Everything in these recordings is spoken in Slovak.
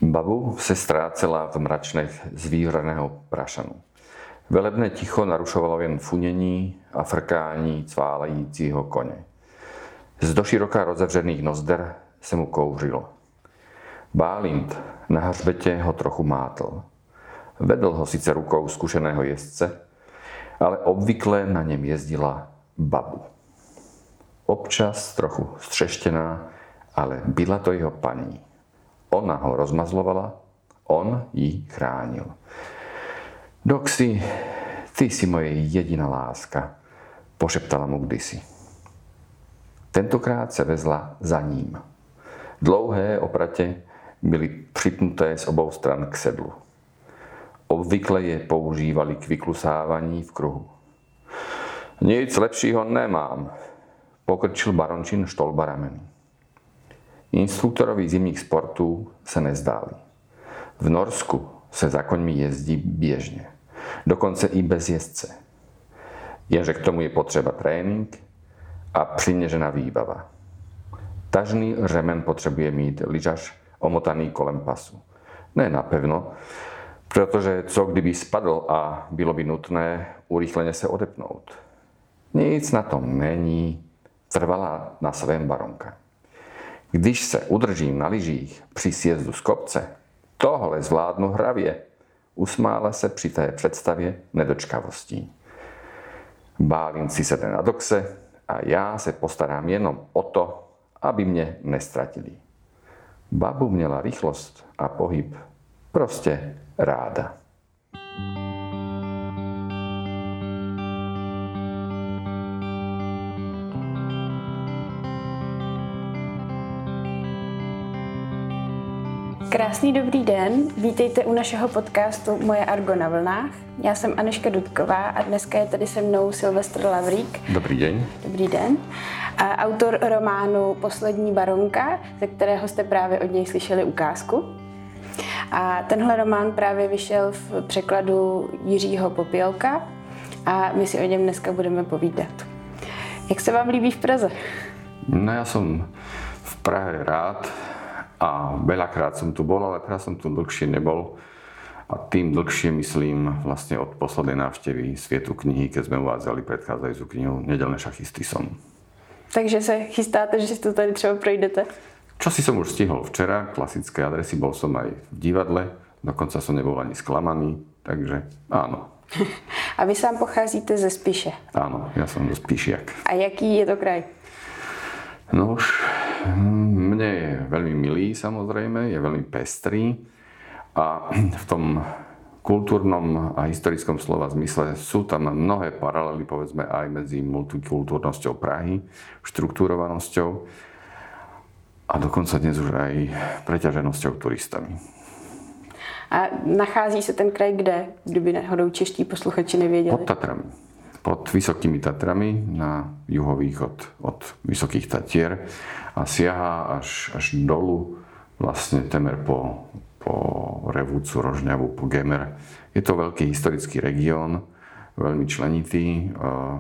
Babu se ztrácela v mračnech z výhraného prašanu. Velebné ticho narušovalo jen funění a frkání cválajícího koně. Z doširoka rozevřených nozder se mu kouřilo. Bálint na hřbetě ho trochu mátl. Vedl ho sice rukou zkušeného jezdce, ale obvykle na něm jezdila Babu. Občas trochu střeštěná, ale byla to jeho paní. Ona ho rozmazlovala, on ji chránil. Doxy, ty si moje jediná láska, pošeptala mu kdysi. Tentokrát se vezla za ním. Dlouhé opratě byly připnuté z obou stran k sedlu. Obvykle je používali k vyklusávání v kruhu. Nic lepšího nemám, pokrčil barončin Štolba rameny. Instruktorovi zimních sportů se nezdáli. V Norsku se za koňmi jezdí běžně, dokonce i bez jezdce. Jenže k tomu je potřeba trénink a přiměřená výbava. Tažný řemen potřebuje mít lyžař omotaný kolem pasu. Ne napevno, protože co kdyby spadl a bylo by nutné urychleně se odepnout. Nic na tom není, trvala na svém baronka. Když se udržím na lyžích při sjezdu z kopce, tohle zvládnu hravě, usmála se při té představě nedočkavostí. Bálint si sedne na doxe a já se postarám jenom o to, aby mě nestratili. Babu měla rychlost a pohyb prostě ráda. Krásný dobrý den, vítejte u našeho podcastu Moje Argo na vlnách. Já jsem Anežka Dudková a dneska je tady se mnou Silvestr Lavrík. Dobrý den. Dobrý den. A autor románu Poslední baronka, ze kterého jste právě od něj slyšeli ukázku. A tenhle román právě vyšel v překladu Jiřího Popělka a my si o něm dneska budeme povídat. Jak se vám líbí v Praze? No ja som v Prahe rád a veľakrát som tu bol, ale teraz som tu dlhšie nebol. A tým dlhšie myslím vlastne od poslednej návštevy Svietu knihy, keď sme uvádzali predchádzajúcu knihu Nedelné šachisty som. Takže se chystáte, že si to tady třeba projdete? Čosi som už stihol včera, klasické adresy, bol som aj v divadle, dokonca som nebol ani sklamaný, takže áno. A vy sám pocházíte ze Spiše? Áno, ja som zo Spišiak. A jaký je to kraj? No už mne je veľmi milý samozrejme, je veľmi pestrý a v tom kultúrnom a historickom slova zmysle sú tam mnohé paralely povedzme aj medzi multikultúrnosťou Prahy, štruktúrovanosťou a dokonca dnes už aj preťaženosťou turistami. A nachází se ten kraj kde, kdyby náhodou čeští posluchači nevěděli? Pod Tatrami. Pod Vysokými Tatrami na juhovýchod od Vysokých Tatier a siaha až dolu vlastne temer po Revúcu, Rožňavu, po Gemer. Je to veľký historický región, veľmi členitý.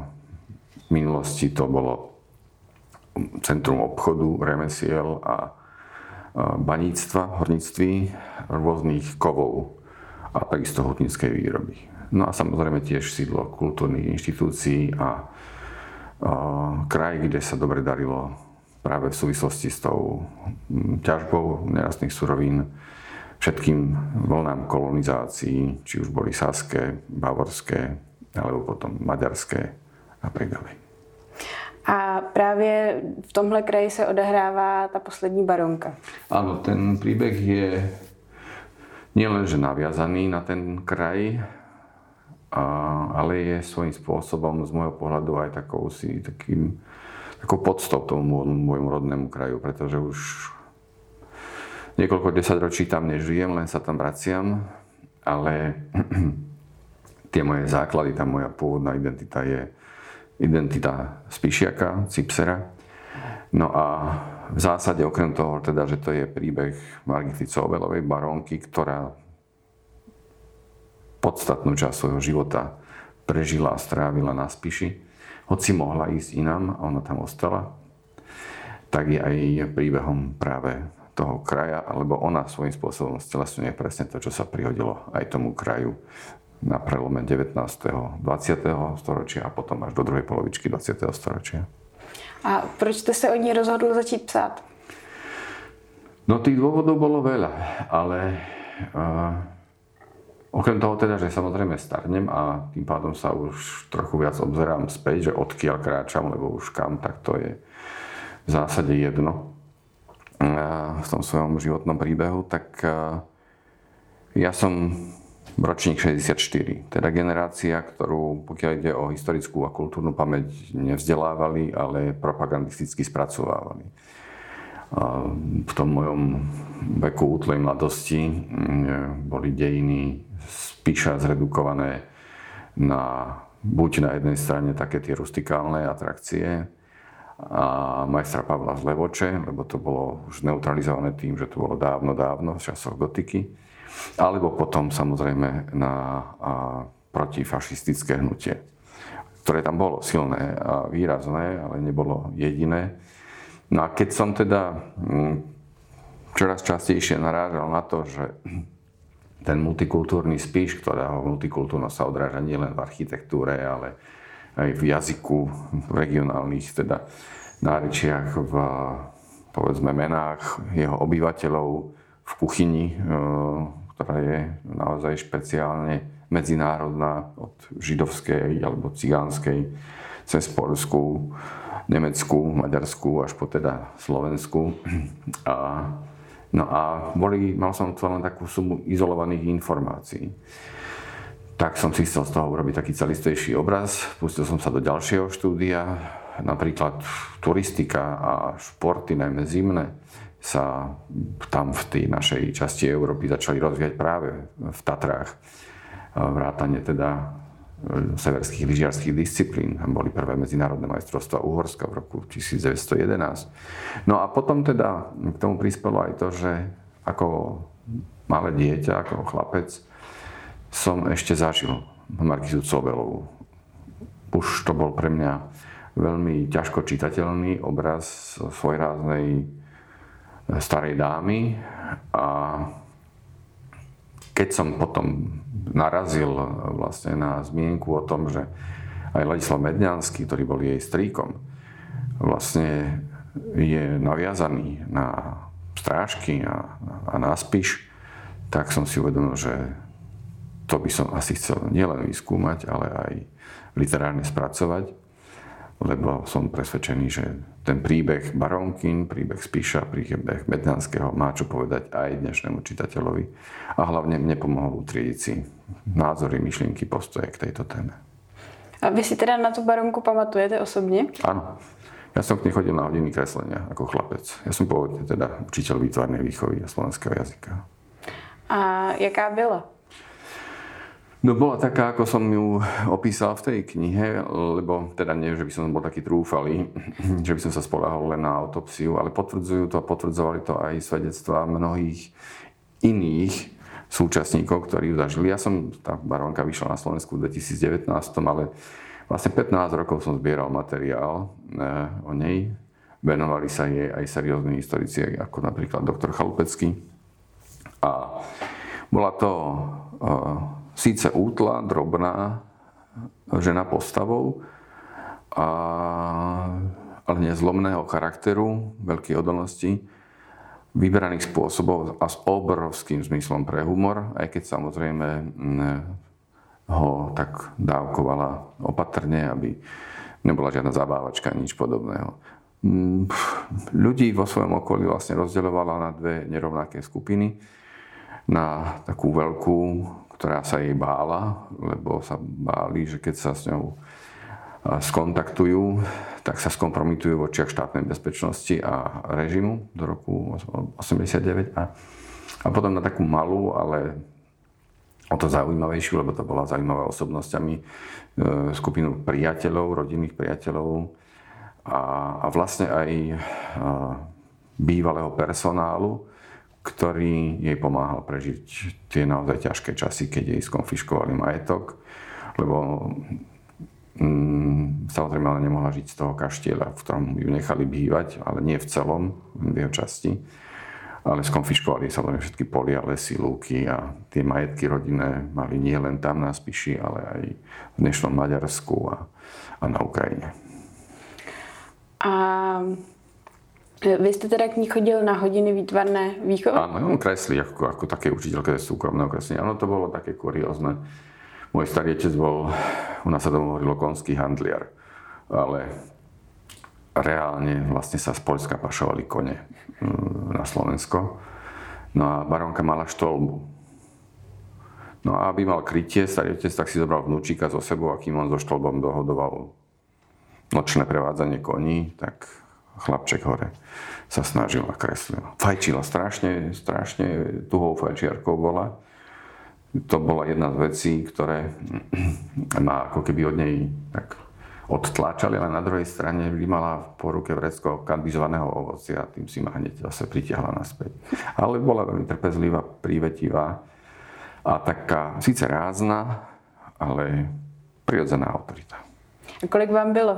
V minulosti to bolo centrum obchodu, remesiel a baníctva, horníctví, rôznych kovov a takisto hutníckej výroby. No a samozrejme tiež sídlo kultúrnych inštitúcií a kraj, kde sa dobre darilo práve v súvislosti s tou ťažbou nerastných surovín všetkým vlnám kolonizácií, či už boli saské, bavorské, alebo potom maďarské a tak ďalej. A právě v tomhle kraji se odehrává ta poslední baronka. Áno, ten príbeh je nielenže naviazaný na ten kraj, ale je svojím spôsobom z môjho pohľadu aj takou podstou tomu môjmu rodnému kraju, pretože už niekoľko desaťročí tam nežijem, len sa tam vraciam, ale tie moje základy, tá moja pôvodná identita je identita Spišiaka, Cipsera. No a v zásade okrem toho, teda, že to je príbeh Margity Covelovej, barónky, ktorá podstatnú časť svojho života prežila a strávila na Spiši, hoci mohla ísť inám a ona tam ostala, tak je aj príbehom práve toho kraja, alebo ona svojím spôsobom stelesňuje presne to, čo sa prihodilo aj tomu kraju na prelome 19. 20. storočia a potom až do druhej polovičky 20. storočia. A proč jste se o ní rozhodl začít psát? No tých dôvodov bolo veľa, ale okrem toho teda, že samozrejme starnem a tým pádom sa už trochu viac obzerám späť, že odkiaľ kráčam, lebo už kam, tak to je v zásade jedno v tom svojom životnom príbehu, tak ja som ročník 64, teda generácia, ktorú, pokiaľ ide o historickú a kultúrnu pamäť, nevzdelávali, ale propagandisticky spracovávali. V tom mojom veku útlej mladosti boli dejiny spíša zredukované na buď na jednej strane také tie rustikálne atrakcie a majstra Pavla z Levoče, lebo to bolo už neutralizované tým, že to bolo dávno v časoch gotiky. Alebo potom samozrejme na protifašistické hnutie, ktoré tam bolo silné a výrazné, ale nebolo jediné. No a keď som teda čoraz častejšie narážal na to, že ten multikultúrny Spiš, ktorého multikultúrnosť sa odráža nielen v architektúre, ale aj v jazyku, v regionálnych teda nárečiach, v povedzme menách jeho obyvateľov, v kuchyni, ktorá je naozaj špeciálne medzinárodná, od židovskej alebo cigánskej cez poľskú, nemeckú, maďarskú až po teda Slovensku. Mal som tu len takú sumu izolovaných informácií. Tak som si chcel z toho urobiť taký celistvejší obraz. Pustil som sa do ďalšieho štúdia, napríklad turistika a športy, najmä zimné, sa tam v tej našej časti Európy začali rozvíjať práve v Tatrách. Vrátane teda severských lyžiarských disciplín. Tam boli prvé medzinárodné majstrovstvá Uhorska v roku 1911. No a potom teda k tomu prispelo aj to, že ako malé dieťa, ako chlapec, som ešte zažil Markízu Cobelovú. Už to bol pre mňa veľmi ťažko čitateľný obraz svojráznej starej dámy a keď som potom narazil vlastne na zmienku o tom, že aj Ladislav Medňanský, ktorý bol jej strýkom, vlastne je naviazaný na strážky a na Spiš, tak som si uvedomil, že to by som asi chcel nielen vyskúmať, ale aj literárne spracovať, lebo som presvedčený, že ten príbeh Barónkin, príbeh Spiša, príbeh Medňanského má čo povedať aj dnešnému čitateľovi a hlavne mne pomohol utriediť si názory, myšlienky, postoje k tejto téme. A vy si teda na tú Barónku pamatujete osobne? Áno. Ja som k nej chodil na hodiny kreslenia ako chlapec. Ja som pôvodne teda učiteľ výtvarnej výchovy a slovenského jazyka. A jaká byla? No bola taká, ako som ju opísal v tej knihe, lebo teda nie, že by som bol taký trúfalý, že by som sa spoľahol len na autopsiu, ale potvrdzovali to aj svedectvá mnohých iných súčasníkov, ktorí ju zažili. Tá Barónka vyšla na Slovensku v 2019, ale vlastne 15 rokov som zbieral materiál o nej. Venovali sa jej aj seriózni historici, ako napríklad doktor Chalupecký. A bola to síce útla, drobná žena postavou, ale nezlomného charakteru, veľkej odolnosti, vyberaných spôsobov a s obrovským zmyslom pre humor, aj keď samozrejme ho tak dávkovala opatrne, aby nebola žiadna zabávačka, nič podobného. Ľudí vo svojom okolí vlastne rozdeľovala na dve nerovnaké skupiny. Na takú veľkú, ktorá sa jej bála, lebo sa báli, že keď sa s ňou skontaktujú, tak sa skompromitujú v očiach štátnej bezpečnosti a režimu do roku 89. A potom na takú malú, ale o to zaujímavejšiu, lebo to bola zaujímavá osobnosťami, skupinu priateľov, rodinných priateľov a vlastne aj bývalého personálu, ktorý jej pomáhal prežiť tie naozaj ťažké časy, keď jej skonfiškovali majetok, lebo samozrejme ona nemohla žiť z toho kaštieľa, v ktorom ju nechali bývať, ale nie v celom, v jeho časti. ale skonfiškovali samozrejme všetky polia, lesy, lúky a tie majetky rodinné mali nie len tam na Spiši, ale aj v dnešnom Maďarsku a na Ukrajine. A vy jste teda k ní chodil na hodiny výtvarné výchovy? Áno, on kreslí ako také učiteľké súkromného kreslenia. Áno, to bolo také kuriózne. Môj starý otec bol, u nás sa tomu hovorilo konský handliar, ale reálne vlastne sa z Poľska pašovali kone na Slovensko. No a barónka mala štolbu. No a aby mal krytie, starý otec tak si zobral vnúčika so sebou, a kým on so štolbom dohodoval nočné prevádzanie koní, tak chlapček hore sa snažil a kreslil. Fajčila strašne tuhou fajčiarkou bola. To bola jedna z vecí, ktoré ma ako keby od nej tak odtláčali, ale na druhej strane mala po ruke vrecko kandizovaného ovocia a tým si ma hneď zase pritiahla naspäť. Ale bola veľmi trpezlivá, prívetivá a taká síce rázna, ale prirodzená autorita. A kolik vám bylo?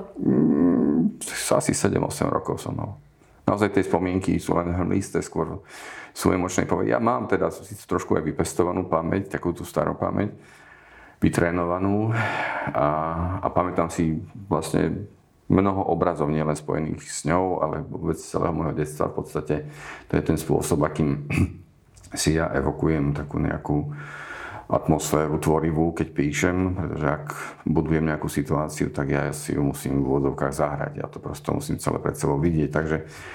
Asi 7-8 rokov som mal. Naozaj tie spomienky sú len hmlisté, skôr sú emočné povedať. Ja mám teda trošku aj vypestovanú pamäť, takú tú starú pamäť, vytrénovanú a pamätám si vlastne mnoho obrazov, nielen spojených s ňou, ale vôbec celého môjho detstva. V podstate to je ten spôsob, akým si ja evokujem takú nejakú atmosféru tvorivú, keď píšem, pretože ak budujem nejakú situáciu, tak ja si ju musím v úvodzovkách zahrať. Ja to prosto musím celé pred sebou vidieť. Takže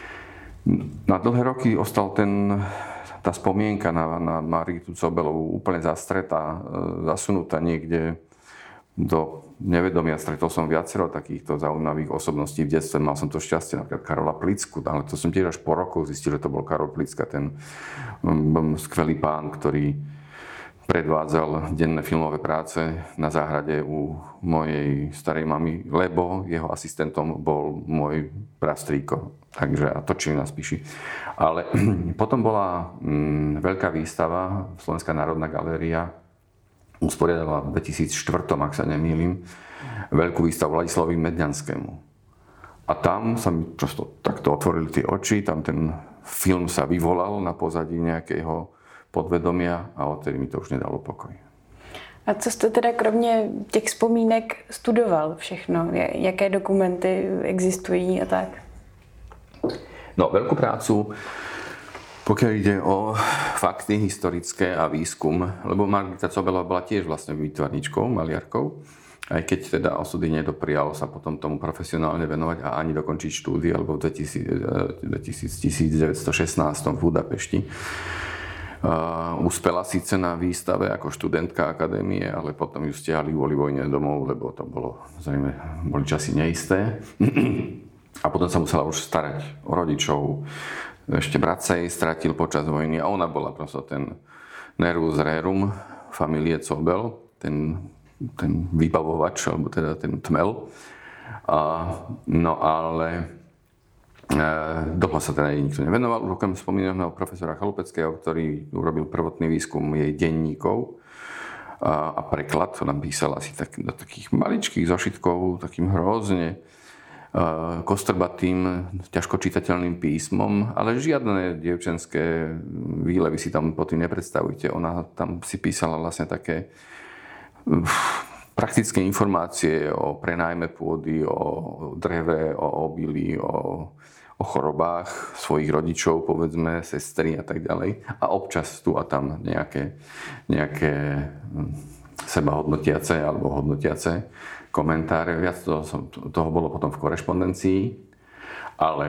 na dlhé roky ostal tá spomienka na Margitu Cobelovú úplne zastretá, zasunutá niekde do nevedomia. Stretol som viacero takýchto zaujímavých osobností v detstve. Mal som to šťastie, napríklad Karola Plicku, ale to som tiež až po rokoch zistil, že to bol Karol Plicka, ten skvelý pán, ktorý predvádzal denné filmové práce na záhrade u mojej starej mamy, lebo jeho asistentom bol môj prastrýko. Takže a točili na Spiši. Ale potom bola veľká výstava, Slovenská národná galéria usporiadala v 2004, ak sa nemýlim, veľkú výstavu Ladislavovi Medňanskému. A tam sa mi prosto takto otvorili tie oči, tam ten film sa vyvolal na pozadí nejakého podvedomia a odtedy mi to už nedalo pokoj. A co jste teda kromě těch vzpomínek studoval všechno? Jaké dokumenty existují a tak? No, veľkú prácu, pokiaľ ide o fakty historické a výskum, lebo Margita Cobelová bola tiež vlastne výtvarničkou, maliarkou, aj keď teda osudy nedoprialo sa potom tomu profesionálne venovať a ani dokončiť štúdie, alebo v 1916 v Budapešti. Uspela síce na výstave ako študentka akadémie, ale potom ju stiahli kvôli vojne domov, lebo to boli časy neisté. A potom sa musela už starať o rodičov. Ešte brat sa jej stratil počas vojny a ona bola prosto ten nervus rerum familie Cobel, ten vybavovač, alebo teda ten tmel. No ale dlho sa teda jej nikto nevenoval. Už okrem spomínaného profesora Chalupeckého, ktorý urobil prvotný výskum jej denníkov a preklad, to napísal asi do takých maličkých zošitkov, takým hrozne kostrbatým, ťažko čitateľným písmom, ale žiadne dievčenské výlevy si tam pod tým nepredstavujte. Ona tam si písala vlastne také praktické informácie o prenájme pôdy, o dreve, o obilí, o chorobách svojich rodičov, povedzme, sestry a tak ďalej. A občas tu a tam nejaké sebahodnotiace alebo hodnotiace komentáre. Viac toho bolo potom v korešpondencii. Ale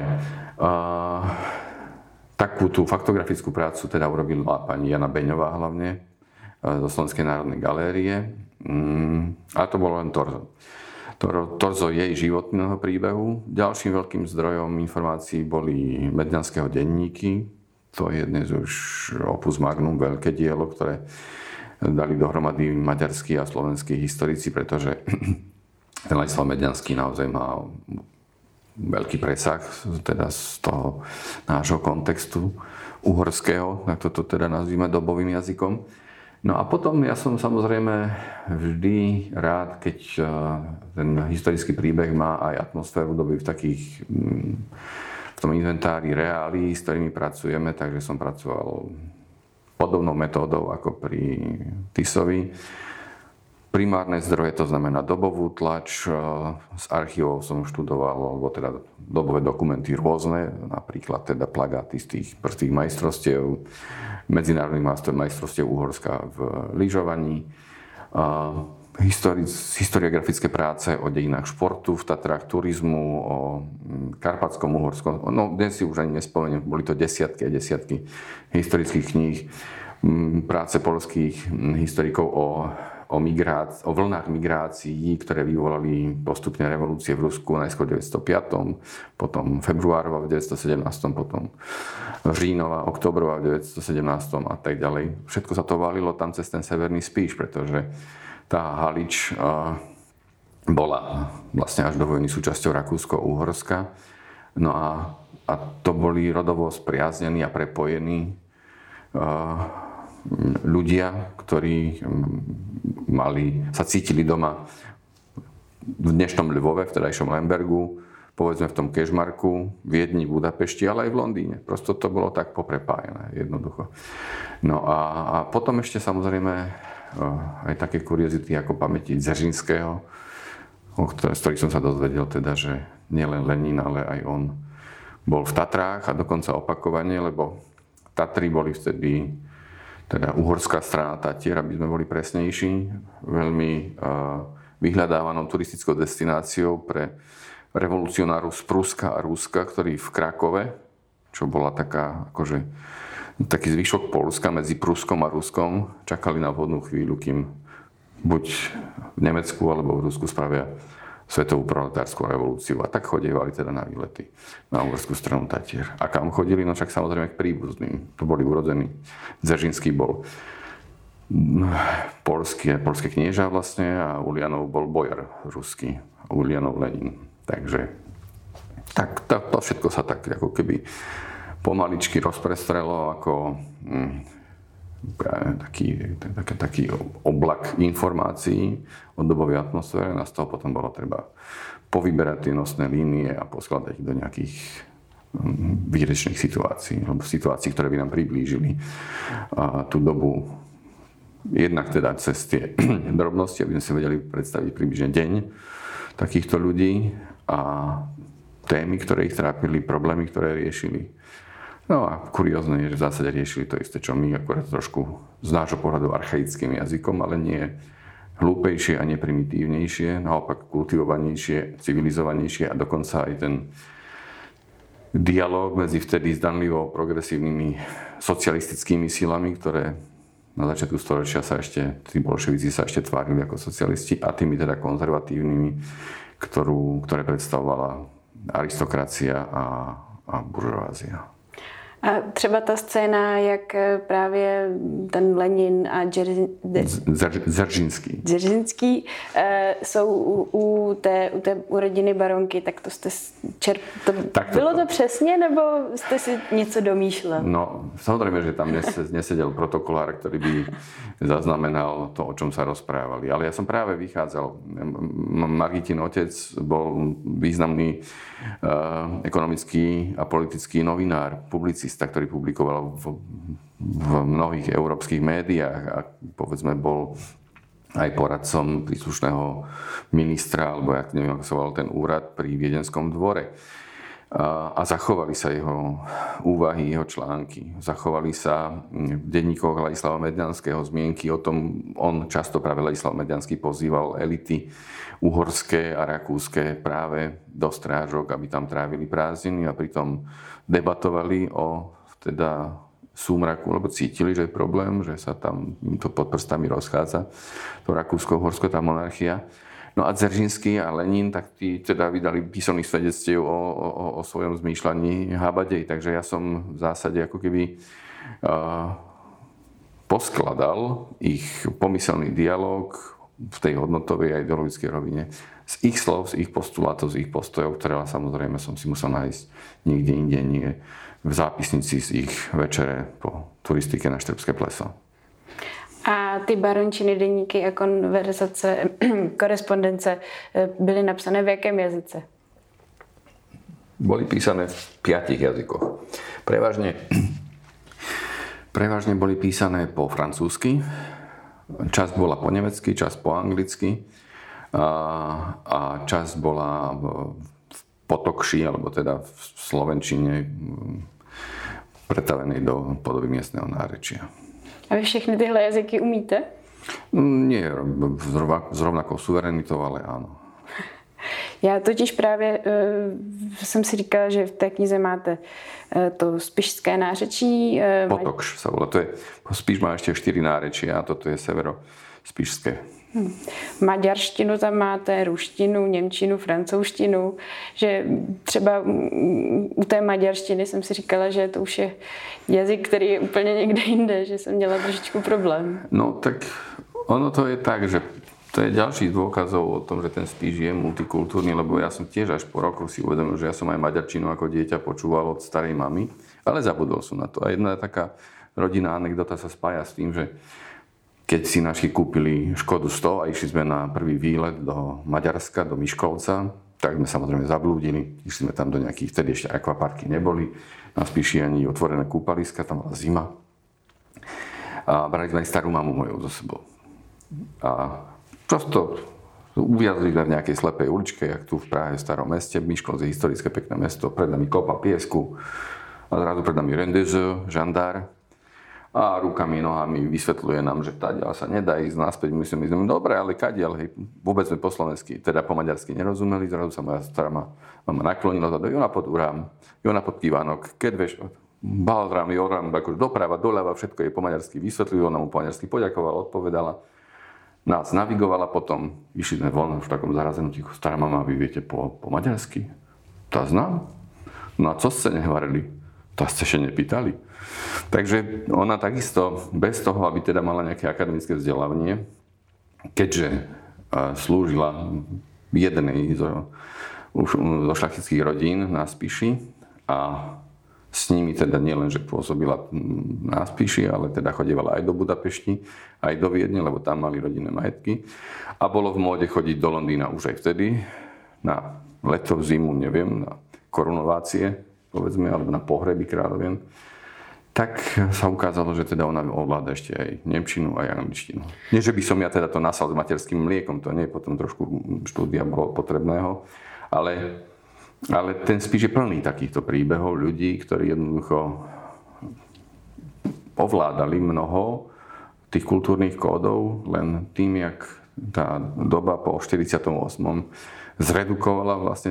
takú tú faktografickú prácu teda urobila pani Jana Beňová hlavne zo Slovenskej národnej galérie. A to bolo len torzo jej životného príbehu. Ďalším veľkým zdrojom informácií boli Medňanského denníky. To je dnes už opus magnum, veľké dielo, ktoré dali dohromady maďarskí a slovenskí historici, pretože ten Ladislav Medňanský naozaj má veľký presah teda z toho nášho kontextu uhorského, tak toto teda nazvime dobovým jazykom. No a potom ja som samozrejme vždy rád, keď ten historický príbeh má aj atmosféru doby v takých v tom inventári reálií, s ktorými pracujeme, takže som pracoval podobnou metódou ako pri Tisovi. Primárne zdroje, to znamená dobovú tlač, z archívov som študoval, alebo teda dobové dokumenty rôzne, napríklad teda plagáty z tých prostých majstrovstiev, medzinárodných majstrovstiev Uhorska v lyžovaní, historiografické práce o dejinách športu v Tatrách, turizmu, o Karpatskom Uhorskom. No dnes si už ani nespomeniem, boli to desiatky a desiatky historických kníh, práce poľských historikov o vlnách migrácií, ktoré vyvolali postupne revolúcie v Rusku, najskôr v 905, potom februárova v 917, potom říjnová, októbrová v 917 a tak ďalej. Všetko sa to valilo tam cez ten severný Spíš, pretože tá Halič bola vlastne až do vojny súčasťou Rakúsko-Uhorska. No a to boli rodovo spriaznení a prepojení ľudia, ktorí sa cítili doma v dnešnom Lvove, v vtedajšom Lembergu, povedzme v tom Kežmarku, Viedni, Budapešti, ale aj v Londýne. Prosto to bolo tak poprepájené, jednoducho. No a potom ešte samozrejme aj také kuriozity ako pamäti Dzeržinského, z ktorých som sa dozvedel teda, že nielen Lenin, ale aj on bol v Tatrách a dokonca opakovane, lebo Tatry boli vtedy teda uhorská strana Tatier, aby sme boli presnejší, veľmi vyhľadávanou turistickou destináciou pre revolucionárov z Pruska a Ruska, ktorí v Krakove, čo bola taká akože taký zvyšok Poľska medzi Pruskom a Ruskom, čakali na vhodnú chvíľu, kým buď v Nemecku alebo v Rusku spravia svetovú proletárskú revolúciu. A tak chodievali teda na výlety na uhorskú stranu Tatier. A kam chodili? No však samozrejme k príbuzným. To boli urodení. Dzeržinský bol poľské knieža vlastne a Ulianov bol bojar ruský. Ulianov Lenin. Takže tak to všetko sa tak ako keby pomaličky rozprestrelo ako taký oblak informácií o dobovej atmosfére. A z toho potom bolo treba povyberať tie nosné línie a poskladať ich do nejakých výrečných situácií, alebo situácií, ktoré by nám priblížili tú dobu. Jednak teda cez tie drobnosti, aby sme si vedeli predstaviť približne deň takýchto ľudí a témy, ktoré ich trápili, problémy, ktoré riešili. No a kuriózne je, že v zásade riešili to isté, čo my, akorát trošku z nášho pohľadu archaickým jazykom, ale nie hlúpejšie a neprimitívnejšie, naopak kultivovanejšie, civilizovanejšie a dokonca aj ten dialóg medzi vtedy zdanlivo progresívnymi socialistickými silami, ktoré na začiatku storočia tí bolševici sa ešte tvárili ako socialisti a tými teda konzervatívnymi, ktoré predstavovala aristokracia a buržoázia. A třeba ta scéna, jak právě ten Lenin a Dzeržinský jsou u té rodiny baronky, tak to jste bylo to přesně, nebo jste si něco domýšlel? No, samozrejme, že tam nesedel protokolár, ktorý by zaznamenal to, o čom sa rozprávali. Ale ja som práve vychádzal. Margitin otec bol významný ekonomický a politický novinár, publicista, ktorý publikoval v mnohých európskych médiách a povedzme bol aj poradcom príslušného ministra, alebo ja neviem, ako sa volal ten úrad pri Viedenskom dvore. A zachovali sa jeho úvahy, jeho články. Zachovali sa v denníkoch Ladislava Medňanského zmienky o tom, on často práve Ladislav Medňanský pozýval elity uhorské a rakúske práve do strážok, aby tam trávili prázdniny a pritom debatovali o teda súmraku, lebo cítili, že je problém, že sa tam to pod prstami rozchádza, to Rakúsko-Uhorsko, tá monarchia. No a Dzeržinský a Lenin, tak tí teda vydali písomných svedectiev o svojom zmýšľaní habadej, takže ja som v zásade ako keby poskladal ich pomyselný dialog v tej hodnotovej a ideologickej rovine z ich slov, z ich postulátov, z ich postojov, ktoré samozrejme som si musel nájsť niekde inde, nie v zápisnici z ich večere po turistike na Štrbské pleso. A ty barončiny, deníky a korespondence byly napsané v jakém jazyce? boli písané v 5 jazykoch. Prevažne boli písané po francúzsky, časť bola po nemecky, časť po anglicky a časť bola v potokši, alebo teda v slovenčine pretavenej do podoby miestneho nárečia. A vy všechny tyhle jazyky umíte? Nie s rovnakou suverenitou, ale áno. Já totiž právě jsem si říkala, že v té knize máte to spišské nářečí. Potokš sa volá. Spiš má ešte 4 nárečia a toto je severo-spišské. Maďarštinu tam máte, ruštinu, němčinu, francouzštinu. Že třeba u té maďarštiny jsem si říkala, že to už je jazyk, který je úplně někde jinde, že jsem měla trošičku problém. No tak ono to je tak, že to je ďalší dôkazov o tom, že ten Spiš je multikultúrny, lebo ja som tiež až po rokoch si uvedomil, že ja som aj maďarčinu ako dieťa počúval od starej mamy, ale zabudol som na to. A jedna taká rodinná anekdota sa spája s tým, že keď si naši kúpili Škodu 100 a išli sme na prvý výlet do Maďarska, do Miškovca, tak sme samozrejme zablúdili. Išli sme tam do nejakých, vtedy ešte akvaparky neboli, na Spiši ani otvorené kúpaliska, tam bola zima. A brali sme aj starú mamu moju so sebou. A prosto uviazli sme v nejakej slepej uličke, jak tu v Prahe, v starom meste. Miškovec je historické pekné mesto, pred nami kopa piesku a zrazu pred nami rendezvous, žandár a rukami, nohami vysvetľuje nám, že táďal sa nedá ísť naspäť. My sme dobre, ale kadiaľ, hej, vôbec sme po slovensky, teda po maďarsky nerozumeli, zrazu sa moja stará mama naklonila do Jona pod Urám, Jona pod Kývánok, keď vieš, Balrám, Jorám, akože doprava, doľava, všetko je po maďarsky vysvetľujú, ona mu po maďarsky poďakovala, odpovedala. Nás navigovala potom, išli sme von v takom zarazenom tichu. Stará mama, vy viete po maďarsky? To znám. No a co ste nehovorili? To ste ešte nepýtali. Takže ona takisto, bez toho, aby teda mala nejaké akademické vzdelávanie, keďže slúžila jednej zo šľachtických rodín na Spiši a s nimi teda nielen, že pôsobila na Spiši, ale teda chodievala aj do Budapešti, aj do Viedne, lebo tam mali rodinné majetky. A bolo v móde chodiť do Londýna už aj vtedy, na leto, zimu, neviem, na korunovácie, povedzme, alebo na pohreby kráľovien. Tak sa ukázalo, že teda ona ovláda ešte aj nemčinu, aj angličtinu. Nie, že by som ja teda to nasal s materským mliekom, to nie, potom trošku štúdia bolo potrebného, ale ten Spiš je plný takýchto príbehov ľudí, ktorí jednoducho ovládali mnoho tých kultúrnych kódov len tým, jak tá doba po 48. zredukovala vlastne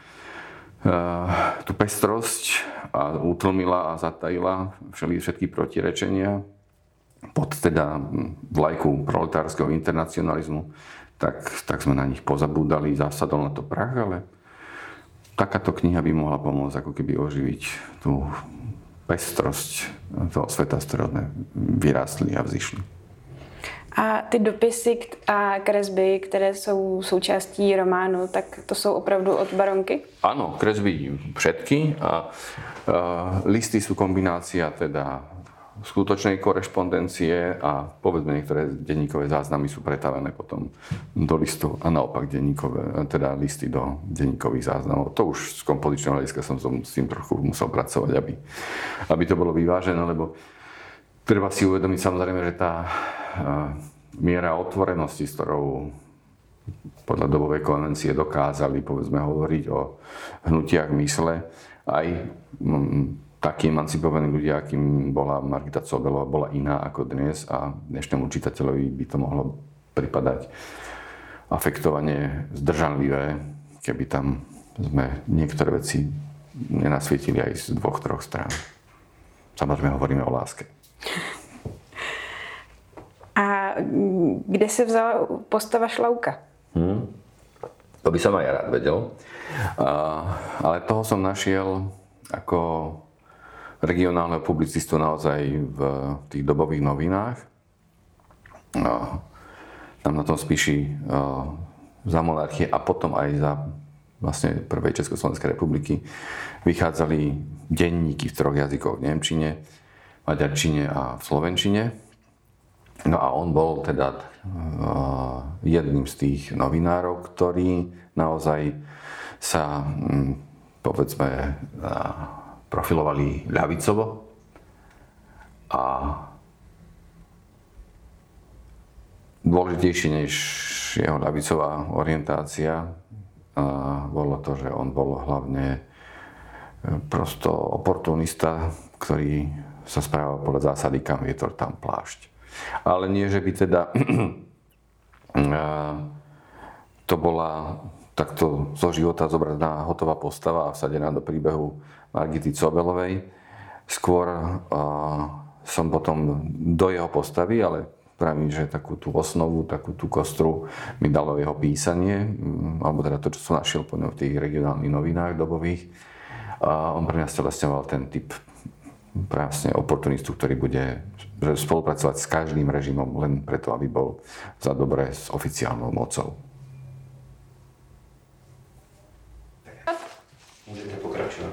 tú pestrosť a utlmila a zatajila všetky protirečenia pod teda vlajku proletárskeho internacionalizmu. Tak sme na nich pozabúdali, zasadol na to prach, ale takáto kniha by mohla pomôcť ako keby oživiť tú pestrosť toho sveta, z ktorého sme vyrástli a vzýšli. A ty dopisy a kresby, které jsou součástí románu, tak to jsou opravdu od Baronky? Áno, kresby všetky a listy sú kombinácia teda skutočnej korešpondencie a povedzme niektoré denníkové záznamy sú pretavené potom do listov a naopak teda listy do denníkových záznamov. To už z kompozičného hľadiska som s tým trochu musel pracovať, aby to bolo vyvážené, lebo treba si uvedomiť samozrejme, že tá miera otvorenosti, s ktorou podľa dobovej konvencie dokázali povedzme hovoriť o hnutiach mysle, aj takí emancipovaní ľudia, akým bola Margita Cobelová, bola iná ako dnes a dnešnému čitateľovi by to mohlo pripadať afektovane zdržanlivé, keby tam sme niektoré veci nenasvietili aj z 2-3 strán. Samozrejme hovoríme o láske. A kde se vzala postava Šlauka? To by som aj rád vedel. Ale toho som našiel ako regionálneho publicistu naozaj v tých dobových novinách. Tam na tom Spiši za monarchie a potom aj za vlastne prvej Československej republiky vychádzali denníky v 3 jazykoch, v nemčine, maďarčine a v slovenčine. No a on bol teda jedným z tých novinárov, ktorí naozaj sa povedzme, profilovali ľavicovo a dôležitejšie než jeho ľavicová orientácia bolo to, že on bol hlavne prosto oportunista, ktorý sa správal podľa zásady kam vietor, tam plášť. Ale nie, že by teda to bola takto zo života zobraná hotová postava a vsadená do príbehu Margity Cobelovej. Skôr som potom do jeho postavy, ale pravím, že takú tú osnovu, takú tú kostru mi dalo jeho písanie, alebo teda to, čo som našiel po ňom v tých regionálnych novinách dobových. On pre mňa stelesňoval ten typ presne oportunistu, ktorý bude spolupracovať s každým režimom len preto, aby bol za dobre s oficiálnou mocou. Můžete pokračovat.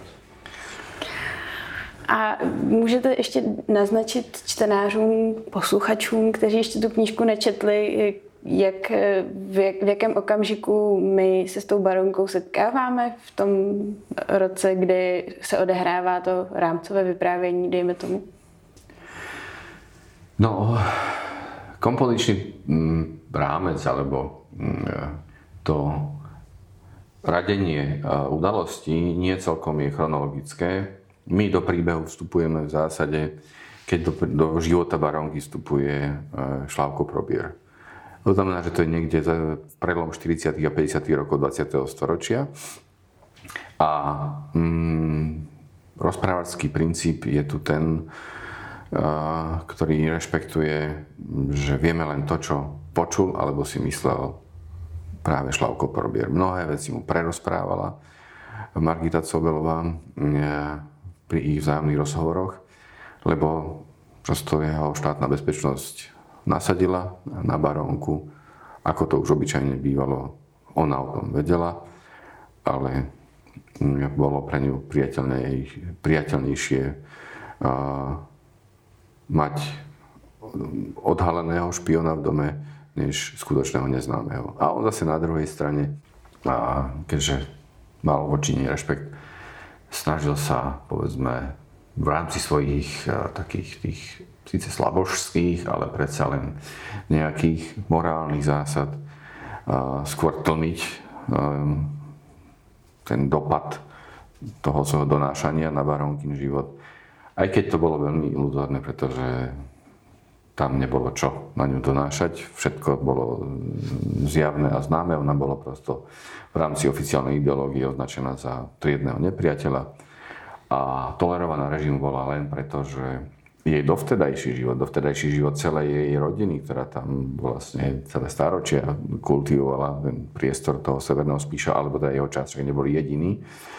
A můžete ještě naznačit čtenářům, posluchačům, kteří ještě tu knížku nečetli, v jakém okamžiku my se s tou baronkou setkáváme v tom roce, kdy se odehrává to rámcové vyprávění, dejme tomu? No, kompozičný rámec, alebo to radenie udalostí nie celkom je chronologické. My do príbehu vstupujeme v zásade, keď do života baronky vstupuje Šlavko Probír. To znamená, že to je niekde prelom 40. a 50. rokov 20. storočia. A rozprávačský princíp je tu ten, ktorý rešpektuje, že vieme len to, čo počul alebo si myslel práve Šlavko Probír. Mnohé veci mu prerozprávala Margita Cobelová pri ich vzájomných rozhovoroch, lebo prosto jeho štátna bezpečnosť nasadila na barónku, ako to už obyčajne bývalo. Ona o tom vedela, ale bolo pre ňu priateľnejšie mať odhaleného špiona v dome, než skutočného neznámeho. A on zase na druhej strane, keďže mal voči nej rešpekt, snažil sa, povedzme, v rámci svojich takých tých síce slabožských, ale predsa len nejakých morálnych zásad skôr tlmiť ten dopad toho svojho donášania na barónkin život. Aj keď to bolo veľmi iluzórne, pretože tam nebolo čo na ňu donášať. Všetko bolo zjavné a známe. Ona bola prosto v rámci oficiálnej ideológie označená za triedneho nepriateľa a tolerovaná režimu bola len preto, že jej dovtedajší život celej jej rodiny, ktorá tam vlastne celé stáročia kultivovala ten priestor toho severného Spíša, alebo teda jeho časť, že neboli jediní,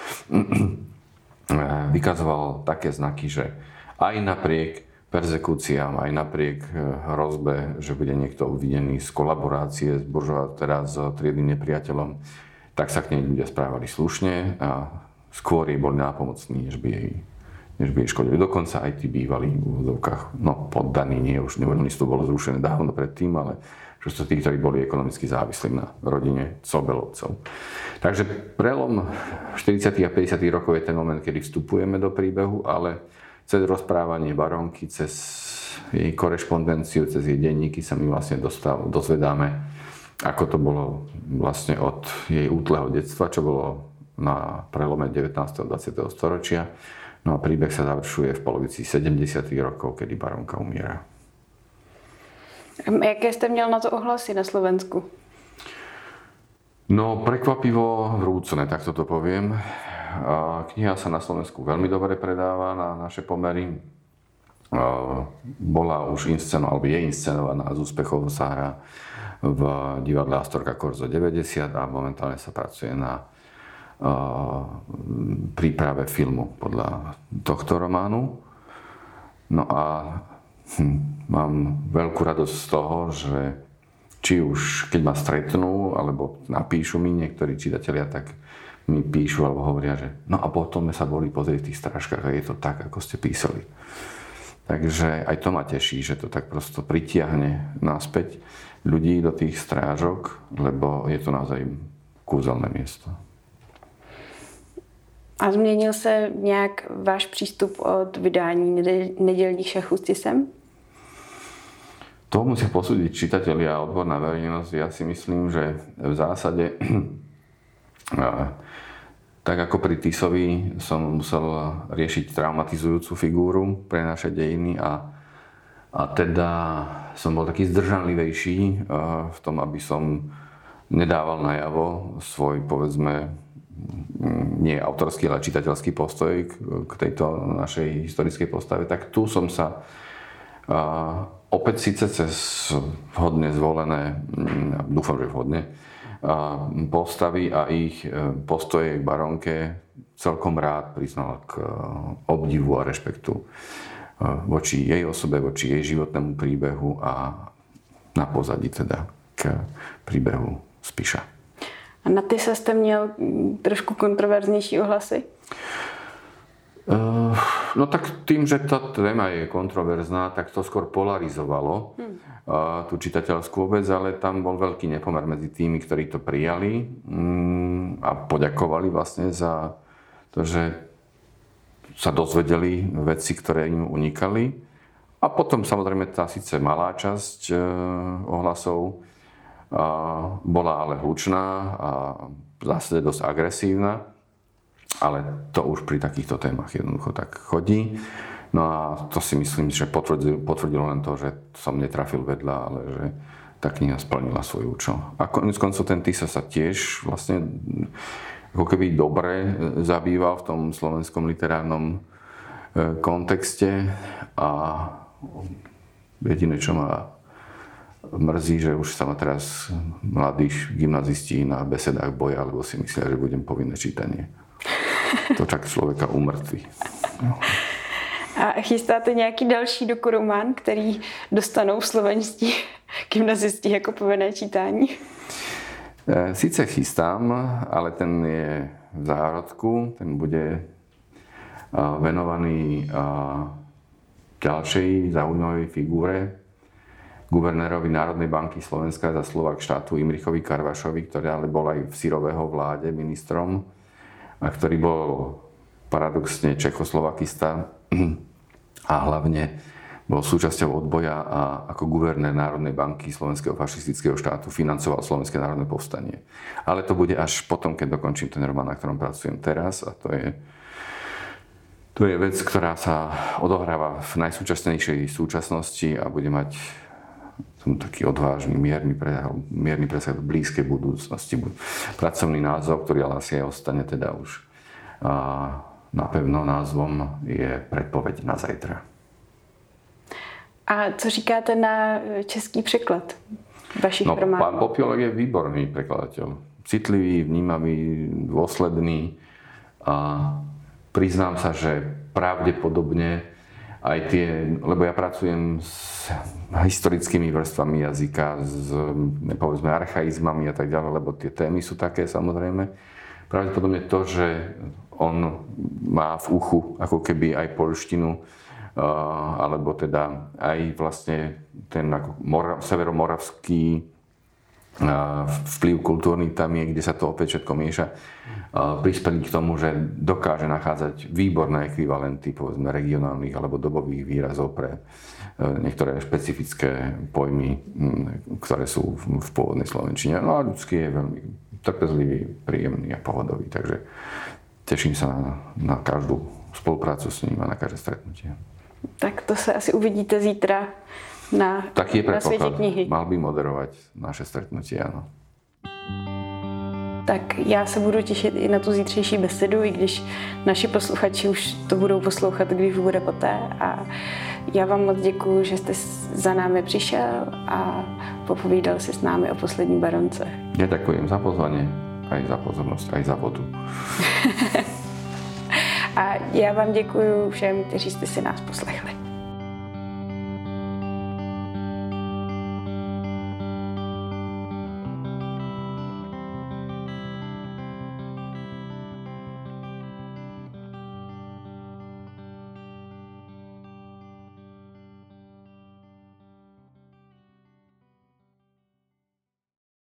vykazoval také znaky, že aj napriek perzekúciám, aj napriek hrozbe, že bude niekto obvinený z kolaborácie s teda s triednym nepriateľom, tak sa k nej ľudia správali slušne a skôr jej boli nápomocní, než by jej škodili. Dokonca aj tí bývalí v úvodzovkách, poddaní, nie, už nevoľníctvo bolo zrušené dávno predtým, ale čo sú tí, ktorí boli ekonomicky závislí na rodine Cobelovcov. Takže prelom 40. a 50. rokov je ten moment, kedy vstupujeme do príbehu, ale cez rozprávanie baronky, cez jej korešpondenciu, cez jej denníky sa my vlastne dozvedáme, ako to bolo vlastne od jej útleho detstva, čo bolo na prelome 19. a 20. storočia. No a príbeh sa završuje v polovici 70. rokov, kedy baronka umiera. Jaké jste měl na to ohlasy na Slovensku? No, prekvapivo vrúcne, tak to poviem. Kniha sa na Slovensku veľmi dobre predáva na naše pomery. Bola už alebo je inscenovaná, z úspechov sa hrá v divadle Astorga Korzo 90 a momentálne sa pracuje na príprave filmu podľa tohto románu. No a mám veľkú radosť z toho, že či už keď ma stretnú, alebo napíšu mi niektorí čitatelia, tak mi píšu alebo hovoria, že no a potom sme sa boli pozrieť v tých strážkach a je to tak, ako ste písali. Takže aj to ma teší, že to tak prosto pritiahne naspäť ľudí do tých strážok, lebo je to naozaj kúzelné miesto. A změnil se nějak váš přístup od vydání Nedělních šachů s Tisem? To musia posúdiť čitatelia a odborná verejnosť. Ja si myslím, že v zásade tak ako pri Tisovi som musel riešiť traumatizujúcu figúru pre naše dejiny a teda som bol taký zdržanlivejší v tom, aby som nedával najavo svoj, povedzme, nie autorský, ale čitateľský postoj k tejto našej historickej postave. Tak tu som sa opäť síce cez vhodne zvolené, dúfam, že vhodne, postavy a ich postoje k baronke celkom rád priznal k obdivu a rešpektu voči jej osobe, voči jej životnému príbehu a na pozadí teda k príbehu Spiša. A na Tisa jste měl trošku kontroverznější ohlasy? No tak tým, že tá téma je kontroverzná, tak to skôr polarizovalo tú čitateľskú obec, ale tam bol veľký nepomer medzi tými, ktorí to prijali a poďakovali vlastne za to, že sa dozvedeli veci, ktoré im unikali. A potom samozrejme tá síce malá časť ohlasov bola ale hlučná a v zásade dosť agresívna. Ale to už pri takýchto témach jednoducho tak chodí. No a to si myslím, že potvrdilo len to, že som netrafil vedľa, ale že tá kniha splnila svoj účel. A koniec koncov ten Tisa sa tiež vlastne ako keby dobre zabýval v tom slovenskom literárnom kontexte a jediné, čo ma mrzí, že už sa ma teraz mladí gymnazisti na besedách boja, lebo si myslia, že budem povinné čítanie. To čak člověka umrtví. No. A chystáte nějaký další dokuromán, který dostanou slovenští gymnazisti jako povinné čítání? Sice chystám, ale ten je v zárodku. Ten bude venovaný ďalšej zaujímavej figúre, guvernérovi Národnej banky Slovenska za Slovák štátu Imrichovi Karvašovi, ktorý ale bol aj v Syrového vláde ministrom a ktorý bol paradoxne Čechoslovakista a hlavne bol súčasťou odboja a ako guvernér Národnej banky Slovenského fašistického štátu financoval Slovenské národné povstanie. Ale to bude až potom, keď dokončím ten román, na ktorom pracujem teraz, a to je vec, ktorá sa odohráva v najsúčasnejšej súčasnosti a bude mať taký odvážny, mierny presah do blízkej budúcnosti. Pracovný názov, ktorý ale asi aj ostane teda už napevno názvom, je Predpoveď na zajtra. A co říkáte na český překlad vašich románů? Pán Popiolek je výborný prekladateľ. Citlivý, vnímavý, dôsledný a priznám sa, že pravdepodobne aj tie, lebo ja pracujem s historickými vrstvami jazyka, s povedzme archaizmami a tak ďalej, lebo tie témy sú také samozrejme. Pravdepodobne to, že on má v uchu ako keby aj poľštinu, alebo teda aj vlastne ten severomoravský vplyv kultúrny tam je, kde sa to opäť všetko mieša, prispeli k tomu, že dokáže nachádzať výborné ekvivalenty, povedzme, regionálnych alebo dobových výrazov pre niektoré špecifické pojmy, ktoré sú v pôvodnej slovenčine. No a ľudský je veľmi trpezlivý, príjemný a pohodový, takže teším sa na každú spoluprácu s ním a na každé stretnutie. Tak to se asi uvidíte zítra na Světě knihy. Mal by moderovať naše stretnutie, áno. Tak já se budu těšit i na tu zítřejší besedu, i když naši posluchači už to budou poslouchat, když bude poté. A já vám moc děkuju, že jste za námi přišel a popovídal si s námi o Poslední baronce. Ja ďakujem za pozvanie, aj za pozornosť, aj za vodu. A já vám děkuju všem, kteří jste si nás poslechli.